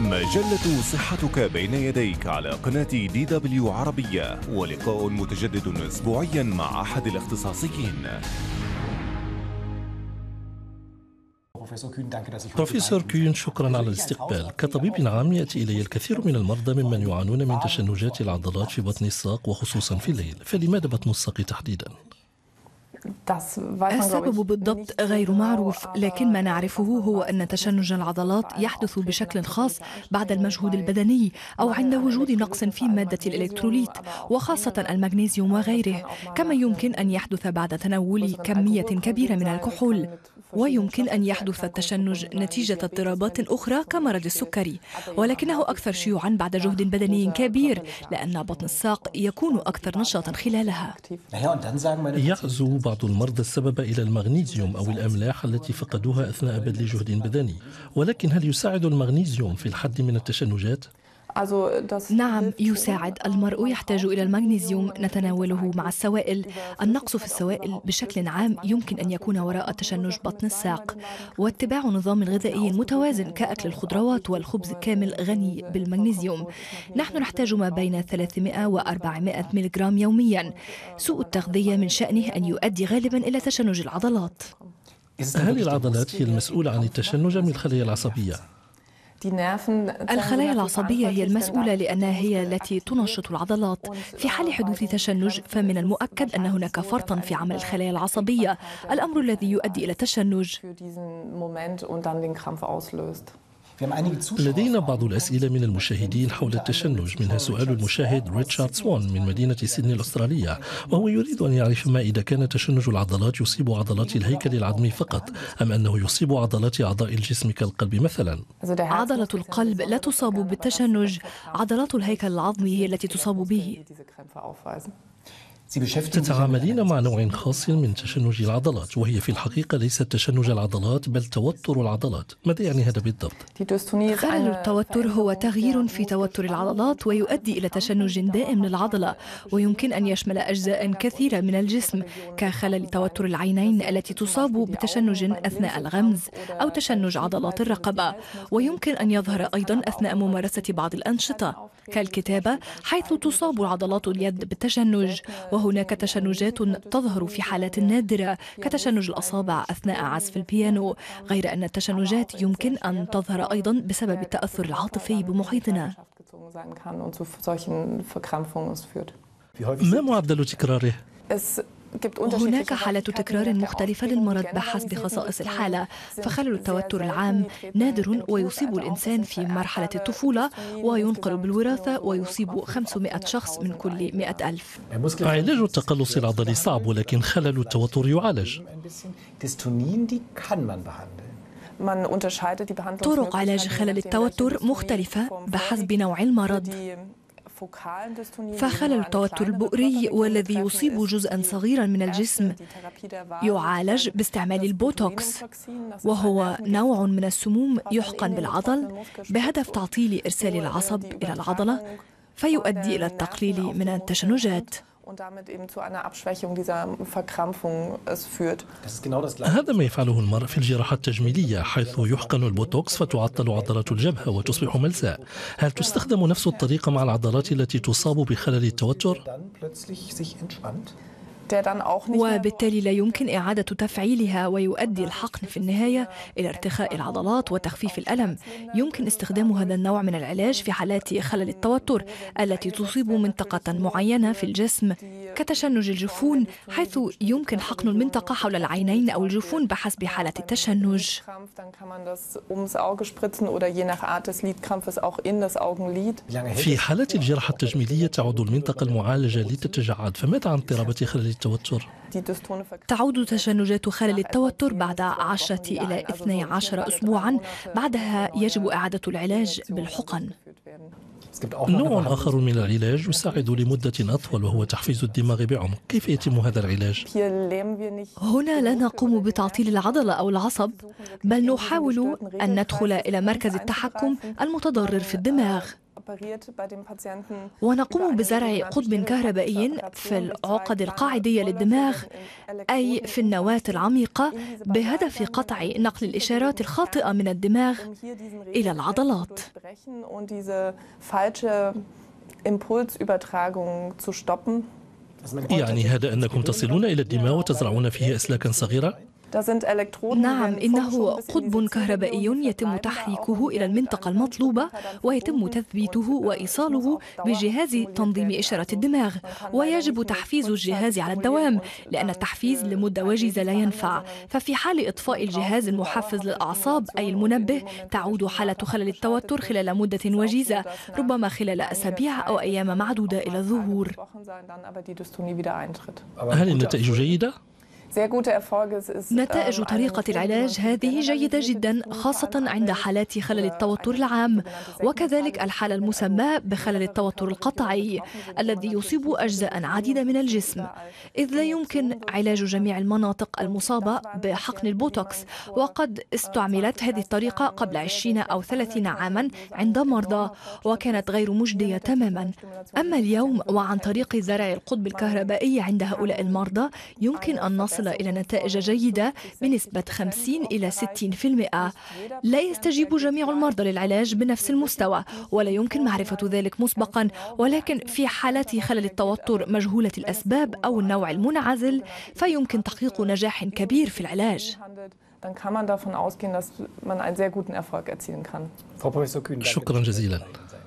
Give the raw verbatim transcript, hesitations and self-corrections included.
مجلة صحتك بين يديك على قناة دي دبليو عربية، ولقاء متجدد أسبوعيا مع أحد الاختصاصيين. بروفيسور كون، شكرا على الاستقبال. كطبيب عام يأتي إلي الكثير من المرضى ممن يعانون من تشنجات العضلات في بطن الساق وخصوصا في الليل، فلماذا بطن الساق تحديدا؟ السبب بالضبط غير معروف، لكن ما نعرفه هو أن تشنج العضلات يحدث بشكل خاص بعد المجهود البدني أو عند وجود نقص في مادة الإلكتروليت وخاصة المغنيسيوم وغيره، كما يمكن أن يحدث بعد تناول كمية كبيرة من الكحول، ويمكن أن يحدث التشنج نتيجة اضطرابات أخرى كمرض السكري، ولكنه أكثر شيوعا بعد جهد بدني كبير لأن بطن الساق يكون أكثر نشاطا خلالها. يعزو بعض المرضى السبب إلى المغنيسيوم أو الأملاح التي فقدوها أثناء بذل جهد بدني، ولكن هل يساعد المغنيسيوم في الحد من التشنجات؟ نعم يساعد. المرء يحتاج إلى المغنيسيوم نتناوله مع السوائل. النقص في السوائل بشكل عام يمكن أن يكون وراء تشنج بطن الساق، واتباع نظام غذائي متوازن كأكل الخضروات والخبز كامل غني بالمغنيسيوم. نحن نحتاج ما بين ثلاثمائة وأربعمائة ملغرام يوميا. سوء التغذية من شأنه أن يؤدي غالبا إلى تشنج العضلات. هل العضلات هي المسؤولة عن التشنج أم الخلايا العصبية؟ الخلايا العصبية هي المسؤولة لأنها هي التي تنشط العضلات. في حال حدوث تشنج فمن المؤكد أن هناك فرطا في عمل الخلايا العصبية، الأمر الذي يؤدي إلى التشنج. لدينا بعض الأسئلة من المشاهدين حول التشنج، منها سؤال المشاهد ريتشارد سوان من مدينة سيدني الأسترالية، وهو يريد أن يعرف ما إذا كان تشنج العضلات يصيب عضلات الهيكل العظمي فقط أم أنه يصيب عضلات أعضاء الجسم كالقلب مثلا. عضلة القلب لا تصاب بالتشنج، عضلات الهيكل العظمي هي التي تصاب به. تتعاملين مع نوع خاص من تشنج العضلات، وهي في الحقيقة ليست تشنج العضلات بل توتر العضلات. ماذا يعني هذا بالضبط؟ خلل التوتر هو تغيير في توتر العضلات ويؤدي إلى تشنج دائم للعضلة، ويمكن أن يشمل أجزاء كثيرة من الجسم كخلل توتر العينين التي تصاب بتشنج أثناء الغمز أو تشنج عضلات الرقبة، ويمكن أن يظهر أيضا أثناء ممارسة بعض الأنشطة كالكتابة حيث تصاب عضلات اليد بالتشنج. وهناك تشنجات تظهر في حالات نادرة كتشنج الأصابع أثناء عزف البيانو، غير أن التشنجات يمكن أن تظهر أيضا بسبب التأثر العاطفي بمحيطنا. ما معدل تكراره؟ هناك حالة تكرار مختلفة للمرض بحسب خصائص الحالة، فخلل التوتر العام نادر ويصيب الإنسان في مرحلة الطفولة وينقل بالوراثة ويصيب خمسمائة شخص من كل مئة ألف. علاج التقلص العضلي صعب، ولكن خلل التوتر يعالج. طرق علاج خلل التوتر مختلفة بحسب نوع المرض، فخلل التوتر البؤري والذي يصيب جزءا صغيرا من الجسم يعالج باستعمال البوتوكس، وهو نوع من السموم يحقن بالعضل بهدف تعطيل إرسال العصب إلى العضلة فيؤدي إلى التقليل من التشنجات. هذا ما يفعله المرء في الجراحة التجميلية، حيث يحقن البوتوكس فتعطل عضلات الجبهة وتصبح ملساء. هل تستخدم نفس الطريقة مع العضلات التي تصاب بخلل التوتر؟ وبالتالي لا يمكن إعادة تفعيلها، ويؤدي الحقن في النهاية إلى ارتخاء العضلات وتخفيف الألم. يمكن استخدام هذا النوع من العلاج في حالات خلل التوتر التي تصيب منطقة معينة في الجسم كتشنج الجفون، حيث يمكن حقن المنطقة حول العينين أو الجفون بحسب حالة التشنج. في حالات الجراحة التجميلية تعود المنطقة المعالجة لتتجعد، فماذا عن اضطرابات خلل التوتر؟ تعود تشنجات خلل التوتر بعد عشرة إلى اثني عشر أسبوعا، بعدها يجب إعادة العلاج بالحقن. نوع آخر من العلاج يساعد لمدة أطول وهو تحفيز الدماغ بعمق. كيف يتم هذا العلاج؟ هنا لا نقوم بتعطيل العضلة أو العصب، بل نحاول أن ندخل إلى مركز التحكم المتضرر في الدماغ. ونقوم بزرع قطب كهربائي في العقد القاعدية للدماغ أي في النواة العميقة بهدف قطع نقل الإشارات الخاطئة من الدماغ إلى العضلات. يعني هذا أنكم تصلون إلى الدماغ وتزرعون فيه أسلاكا صغيرة؟ نعم، إنه قطب كهربائي يتم تحريكه إلى المنطقة المطلوبة ويتم تثبيته وإيصاله بجهاز تنظيم إشارة الدماغ، ويجب تحفيز الجهاز على الدوام لأن التحفيز لمدة وجيزة لا ينفع، ففي حال إطفاء الجهاز المحفز للأعصاب أي المنبه تعود حالة خلل التوتر خلال مدة وجيزة ربما خلال أسابيع أو أيام معدودة إلى الظهور. هل النتائج جيدة؟ نتائج طريقة العلاج هذه جيدة جدا، خاصة عند حالات خلل التوتر العام، وكذلك الحالة المسمى بخلل التوتر القطعي الذي يصيب أجزاء عديدة من الجسم، إذ لا يمكن علاج جميع المناطق المصابة بحقن البوتوكس، وقد استعملت هذه الطريقة قبل عشرين أو ثلاثين عاما عند مرضى وكانت غير مجدية تماما. أما اليوم وعن طريق زرع القطب الكهربائي عند هؤلاء المرضى يمكن أن نصل إلى نتائج جيدة بنسبة خمسين إلى ستين بالمئة. لا يستجيب جميع المرضى للعلاج بنفس المستوى ولا يمكن معرفة ذلك مسبقا، ولكن في حالات خلل التوتر مجهولة الأسباب أو النوع المنعزل فيمكن تحقيق نجاح كبير في العلاج. شكرا جزيلا.